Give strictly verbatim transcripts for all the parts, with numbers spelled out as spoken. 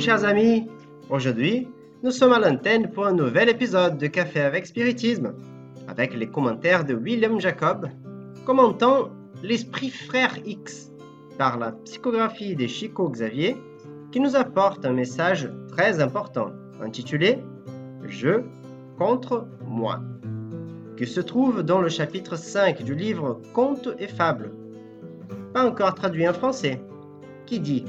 chers amis, aujourd'hui nous sommes à l'antenne pour un nouvel épisode de Café avec Spiritisme, avec les commentaires de William Jacob, commentant l'Esprit Frère X par la psychographie de Chico Xavier, qui nous apporte un message très important, intitulé « Je contre moi », qui se trouve dans le chapitre cinq du livre Contes et Fables, pas encore traduit en français, qui dit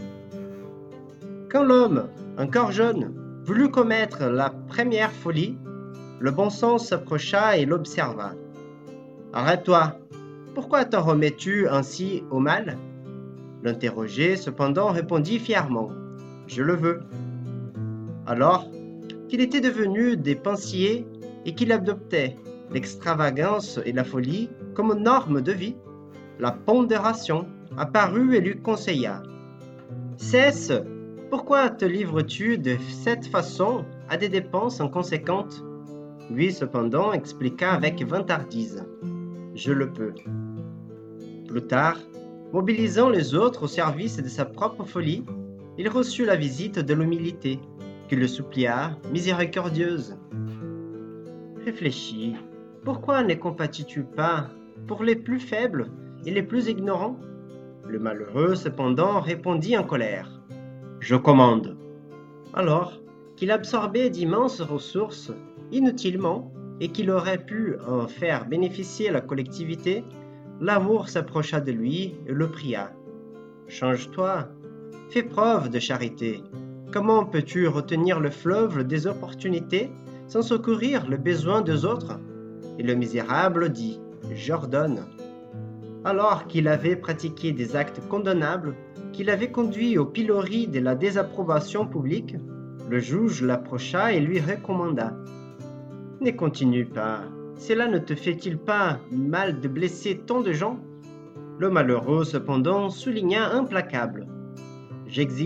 « Quand l'homme, encore jeune, voulut commettre la première folie, le bon sens s'approcha et l'observa. « Arrête-toi, pourquoi t'en remets-tu ainsi au mal ?» L'interrogé, cependant, répondit fièrement « Je le veux. » Alors qu'il était devenu dépensier et qu'il adoptait l'extravagance et la folie comme norme de vie, la pondération apparut et lui conseilla « Cesse, pourquoi te livres-tu de cette façon à des dépenses inconséquentes ?» Lui, cependant, expliqua avec vantardise « Je le peux. » Plus tard, mobilisant les autres au service de sa propre folie, il reçut la visite de l'humilité, qui le supplia, miséricordieuse. Réfléchis, pourquoi ne compatis-tu pas pour les plus faibles et les plus ignorants ? Le malheureux, cependant, répondit en colère. « Je commande. » Alors qu'il absorbait d'immenses ressources, inutilement, et qu'il aurait pu en faire bénéficier la collectivité, l'amour s'approcha de lui et le pria. « Change-toi, fais preuve de charité. Comment peux-tu retenir le fleuve des opportunités sans secourir le besoin des autres ?» Et le misérable dit « J'ordonne. » Alors qu'il avait pratiqué des actes condamnables, qu'il avait conduit au pilori de la désapprobation publique, le juge l'approcha et lui recommanda « Ne continue pas. Cela ne te fait-il pas mal de blesser tant de gens ?» Le malheureux, cependant, souligna implacable « J'exige. »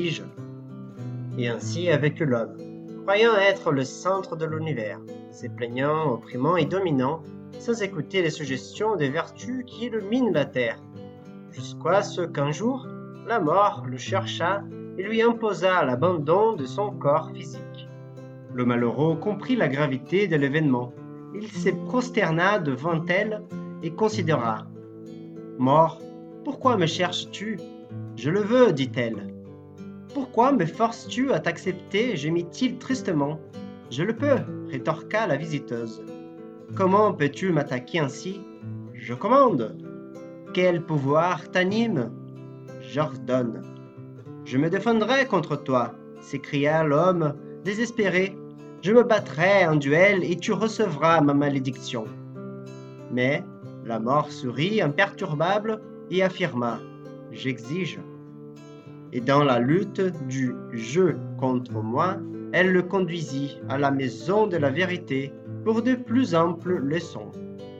Et ainsi avec l'homme, croyant être le centre de l'univers, se plaignant, opprimant et dominant, sans écouter les suggestions des vertus qui illuminent la terre, jusqu'à ce qu'un jour, la mort le chercha et lui imposa l'abandon de son corps physique. Le malheureux comprit la gravité de l'événement. Il se prosterna devant elle et considéra. « Mort, pourquoi me cherches-tu ? Je le veux, dit-elle. Pourquoi me forces-tu à t'accepter ? Gémit-il tristement. Je le peux, rétorqua la visiteuse. Comment peux-tu m'attaquer ainsi ? Je commande. Quel pouvoir t'anime ? J'ordonne. Je me défendrai contre toi, s'écria l'homme désespéré. Je me battrai en duel et tu recevras ma malédiction. Mais la mort sourit imperturbable et affirma « J'exige ». Et dans la lutte du « je contre moi », elle le conduisit à la maison de la vérité pour de plus amples leçons.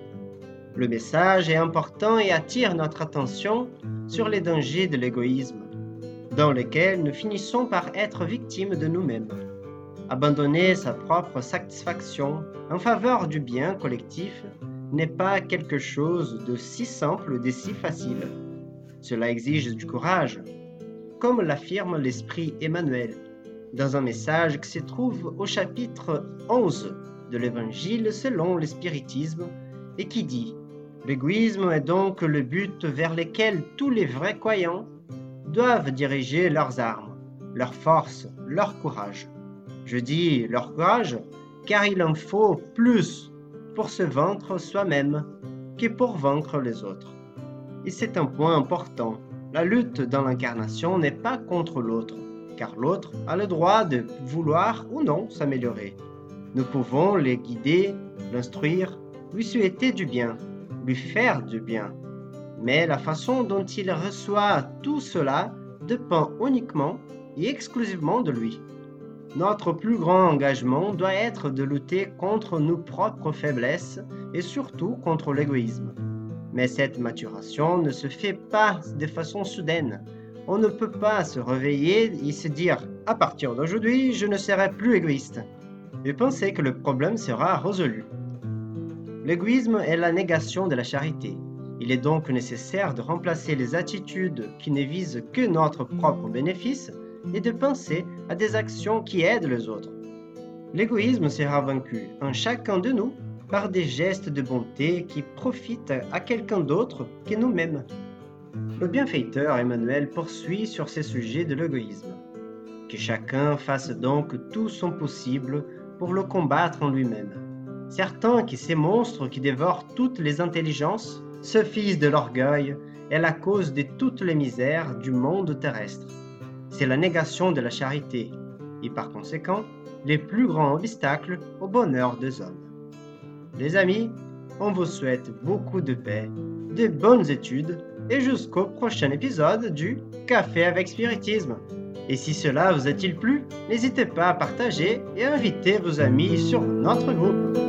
Le message est important et attire notre attention sur les dangers de l'égoïsme, dans lesquels nous finissons par être victimes de nous-mêmes. Abandonner sa propre satisfaction en faveur du bien collectif n'est pas quelque chose de si simple et de si facile. Cela exige du courage, comme l'affirme l'esprit Emmanuel, dans un message qui se trouve au chapitre onze de l'Évangile selon le spiritisme et qui dit « L'égoïsme est donc le but vers lequel tous les vrais croyants doivent diriger leurs armes, leur force, leur courage. Je dis leur courage car il en faut plus pour se vaincre soi-même que pour vaincre les autres. Et c'est un point important. La lutte dans l'incarnation n'est pas contre l'autre, car l'autre a le droit de vouloir ou non s'améliorer. Nous pouvons les guider, l'instruire, lui souhaiter du bien, lui faire du bien. Mais la façon dont il reçoit tout cela dépend uniquement et exclusivement de lui. Notre plus grand engagement doit être de lutter contre nos propres faiblesses et surtout contre l'égoïsme. Mais cette maturation ne se fait pas de façon soudaine. On ne peut pas se réveiller et se dire « à partir d'aujourd'hui, je ne serai plus égoïste » et penser que le problème sera résolu. L'égoïsme est la négation de la charité. Il est donc nécessaire de remplacer les attitudes qui ne visent que notre propre bénéfice et de penser à des actions qui aident les autres. L'égoïsme sera vaincu en chacun de nous par des gestes de bonté qui profitent à quelqu'un d'autre que nous-mêmes. Le bienfaiteur Emmanuel poursuit sur ces sujets de l'égoïsme. Que chacun fasse donc tout son possible pour le combattre en lui-même. Certain que ces monstres qui dévorent toutes les intelligences, ce fils de l'orgueil, est la cause de toutes les misères du monde terrestre. C'est la négation de la charité, et par conséquent, les plus grands obstacles au bonheur des hommes. Les amis, on vous souhaite beaucoup de paix, de bonnes études, et jusqu'au prochain épisode du Café avec Spiritisme. Et si cela vous a-t-il plu, n'hésitez pas à partager et à inviter vos amis sur notre groupe.